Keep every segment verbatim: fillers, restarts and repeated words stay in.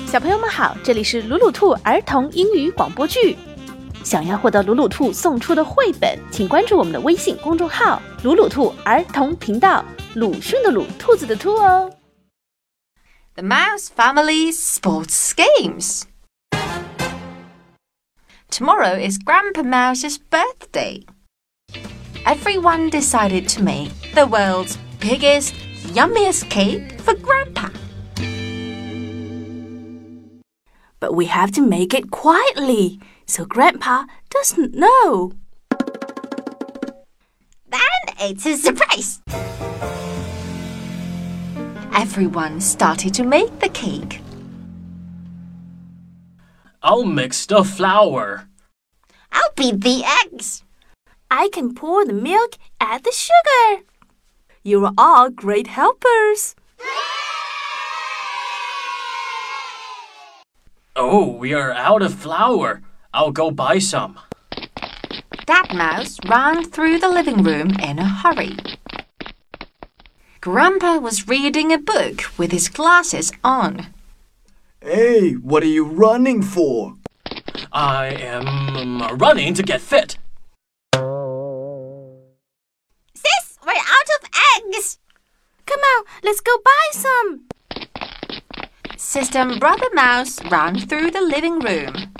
小朋友们好，这里是鲁鲁兔儿童英语广播剧。想要获得鲁鲁兔送出的绘本，请关注我们的微信公众号“鲁鲁兔儿童频道”，鲁迅的鲁，兔子的兔哦。 The Mouse Family's Sports Games. Tomorrow is Grandpa Mouse's birthday. Everyone decided to make the world's biggest, yummiest cake for Grandpa. But we have to make it quietly, so Grandpa doesn't know. Then it's a surprise. Everyone started to make the cake. I'll mix the flour. I'll beat the eggs. I can pour the milk, add the sugar. You are all great helpers. Oh, we are out of flour. I'll go buy some. Dad Mouse ran through the living room in a hurry. Grandpa was reading a book with his glasses on. Hey, what are you running for? I am running to get fit. Sis, we're out of eggs. Come on, let's go buy some. Sister and Brother Mouse ran through the living room.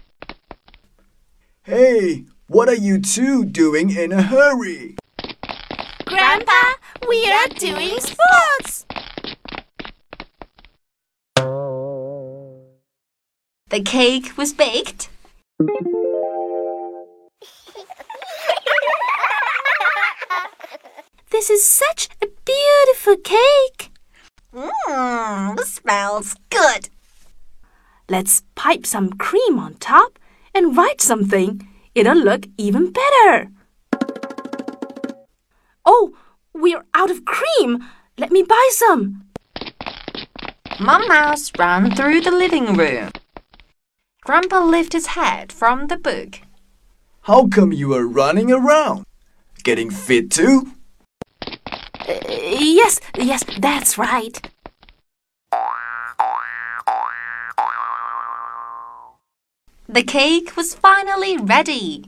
Hey, what are you two doing in a hurry? Grandpa, we are doing sports. The cake was baked. This is such a beautiful cake. Mmm, smells good. Let's pipe some cream on top and write something. It'll look even better. Oh, we're out of cream. Let me buy some. Mum Mouse ran through the living room. Grandpa lifted his head from the book. How come you are running around? Getting fit too? Uh, yes, yes, that's right. The cake was finally ready.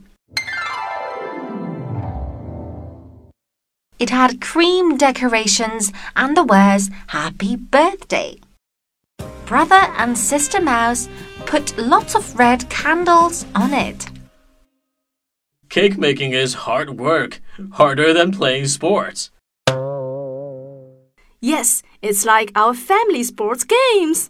It had cream decorations and the words Happy Birthday. Brother and Sister Mouse put lots of red candles on it. Cake making is hard work, harder than playing sports. Yes, it's like our family sports games.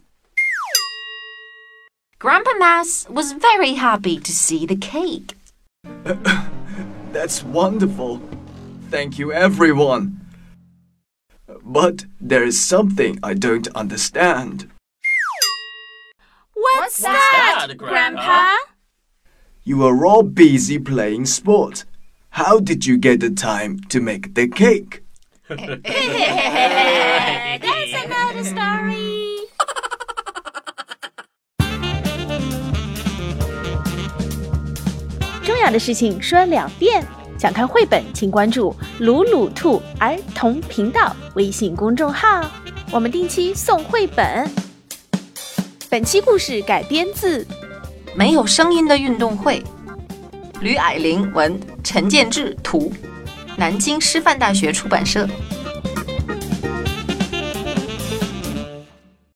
Grandpa Mouse was very happy to see the cake. That's wonderful. Thank you, everyone. But there is something I don't understand. What's, What's that, that, Grandpa? Grandpa? You are all busy playing sport. How did you get the time to make the cake? That's another story. 重要的事情说两遍。想看绘本，请关注鲁鲁兔儿童频道微信公众号，我们定期送绘本。本期故事改编自没有声音的运动会，吕霭玲文，陈建志图，南京师范大学出版社。